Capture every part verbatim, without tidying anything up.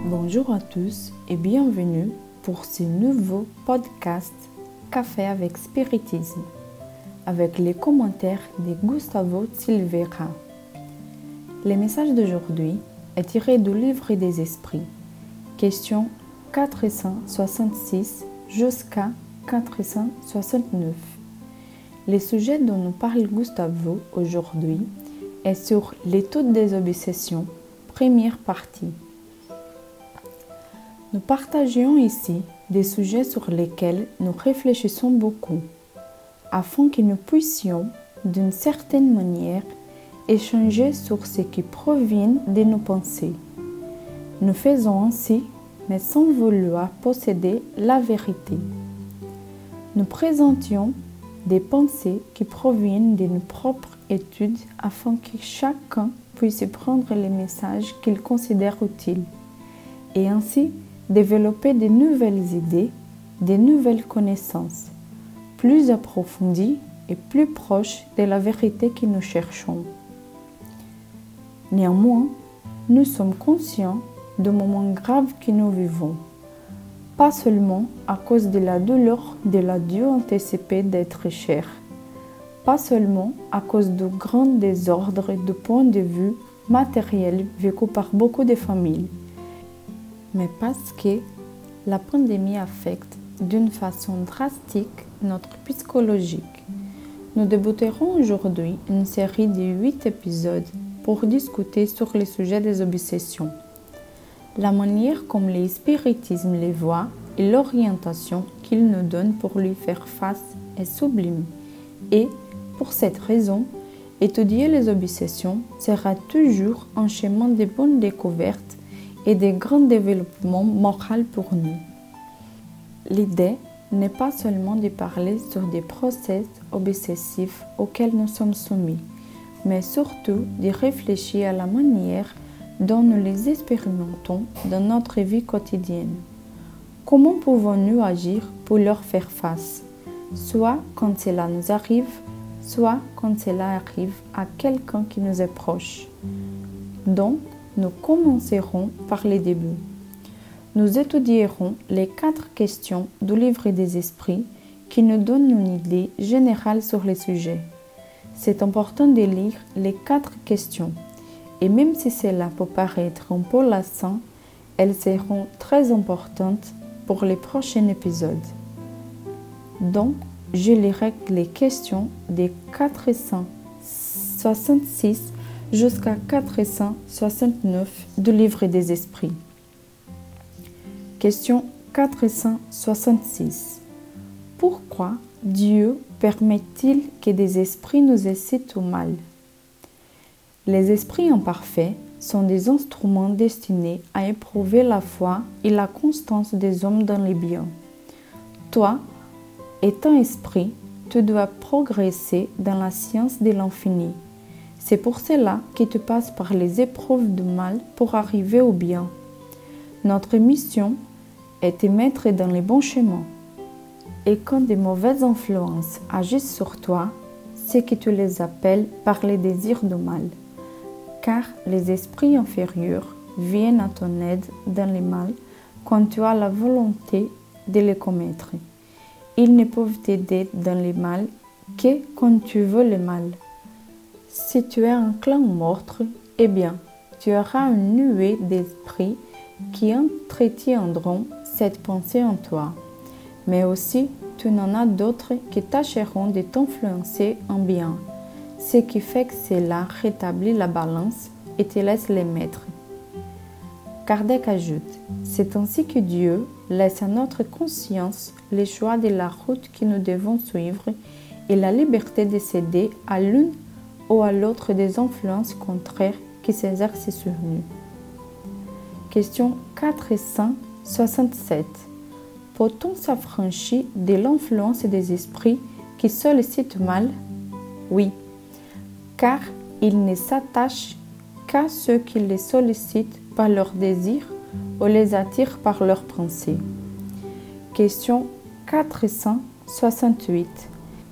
Bonjour à tous et bienvenue pour ce nouveau podcast Café avec Spiritisme, avec les commentaires de Gustavo Silveira. Le message d'aujourd'hui est tiré du Livre des Esprits, question quatre cent soixante-six jusqu'à quatre cent soixante-neuf. Le sujet dont nous parle Gustavo aujourd'hui est sur l'étude des obsessions, première partie. Nous partageons ici des sujets sur lesquels nous réfléchissons beaucoup, afin que nous puissions, d'une certaine manière, échanger sur ce qui provient de nos pensées. Nous faisons ainsi, mais sans vouloir posséder la vérité. Nous présentions des pensées qui proviennent de nos propres études afin que chacun puisse prendre les messages qu'il considère utiles et ainsi développer de nouvelles idées, de nouvelles connaissances, plus approfondies et plus proches de la vérité que nous cherchons. Néanmoins, nous sommes conscients du moment grave que nous vivons, pas seulement à cause de la douleur de l'adieu anticipé d'être cher, pas seulement à cause du grand désordre du point de vue matériel vécu par beaucoup de familles, mais parce que la pandémie affecte d'une façon drastique notre psychologique. Nous débuterons aujourd'hui une série de huit épisodes pour discuter sur le sujet des obsessions, la manière comme le spiritisme les voit et l'orientation qu'il nous donne pour lui faire face est sublime. Et, pour cette raison, étudier les obsessions sera toujours un chemin de bonnes découvertes et de grands développements moraux pour nous. L'idée n'est pas seulement de parler sur des process obsessifs auxquels nous sommes soumis, mais surtout de réfléchir à la manière dont nous les expérimentons dans notre vie quotidienne. Comment pouvons-nous agir pour leur faire face, soit quand cela nous arrive, soit quand cela arrive à quelqu'un qui nous est proche. Donc, nous commencerons par les débuts. Nous étudierons les quatre questions du Livre des Esprits qui nous donnent une idée générale sur le sujet. C'est important de lire les quatre questions et même si cela peut paraître un peu lassant, elles seront très importantes pour les prochains épisodes. Donc, je lirai les questions des quatre cent soixante-six jusqu'à quatre cent soixante-neuf du Livre des Esprits. Question quatre cent soixante-six. Pourquoi Dieu permet-il que des esprits nous incitent au mal? Les esprits imparfaits sont des instruments destinés à éprouver la foi et la constance des hommes dans les biens. Toi, étant esprit, tu dois progresser dans la science de l'infini. C'est pour cela que tu passes par les épreuves du mal pour arriver au bien. Notre mission est de mettre dans les bons chemins. Et quand de mauvaises influences agissent sur toi, c'est que tu les appelles par les désirs du mal. Car les esprits inférieurs viennent à ton aide dans le mal quand tu as la volonté de les commettre. Ils ne peuvent t'aider dans le mal que quand tu veux le mal. Si tu es enclin au meurtre, eh bien, tu auras une nuée d'esprits qui entretiendront cette pensée en toi. Mais aussi, tu n'en as d'autres qui tâcheront de t'influencer en bien, ce qui fait que cela rétablit la balance et te laisse les maîtres. Kardec ajoute, c'est ainsi que Dieu laisse à notre conscience le choix de la route que nous devons suivre et la liberté de céder à l'une ou à l'autre des influences contraires qui s'exercent sur nous. Question quatre cent soixante-sept. Peut-on s'affranchir de l'influence des esprits qui sollicitent mal? Oui, car ils ne s'attachent qu'à ceux qui les sollicitent par leurs désirs ou les attirent par leurs pensées. Question quatre cent soixante-huit.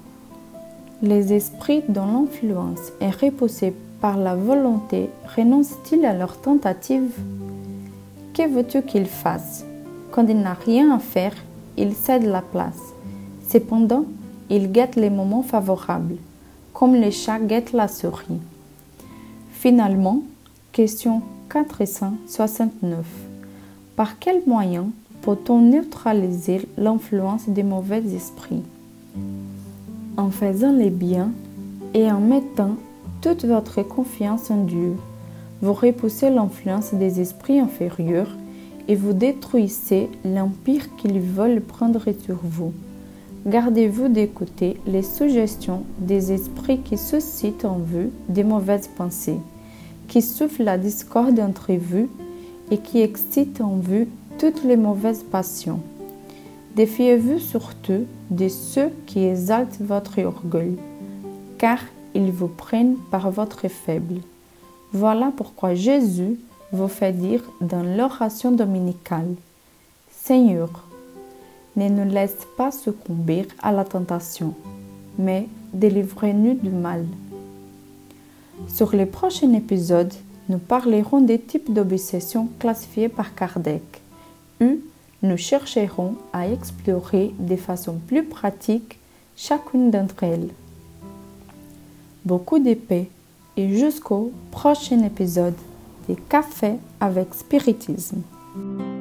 Les esprits dont l'influence est repoussée par la volonté renoncent-ils à leurs tentatives? Que veux-tu qu'il fasse? Quand il n'a rien à faire, il cède la place. Cependant, il guette les moments favorables, comme le chat guette la souris. Finalement, question quatre cent soixante-neuf. Par quel moyen peut-on neutraliser l'influence des mauvais esprits? En faisant les biens et en mettant toute votre confiance en Dieu, vous repoussez l'influence des esprits inférieurs et vous détruisez l'empire qu'ils veulent prendre sur vous. Gardez-vous d'écouter les suggestions des esprits qui suscitent en vous des mauvaises pensées, qui soufflent la discorde entre vous et qui excitent en vous toutes les mauvaises passions. Défiez-vous surtout de ceux qui exaltent votre orgueil, car ils vous prennent par votre faible. Voilà pourquoi Jésus vous fait dire dans l'oration dominicale: Seigneur, ne nous laisse pas succomber à la tentation, mais délivre-nous du mal. Sur le prochain épisode, nous parlerons des types d'obsessions classifiés par Kardec, où nous chercherons à explorer de façon plus pratique chacune d'entre elles. Beaucoup de paix et jusqu'au prochain épisode de Café avec Spiritisme.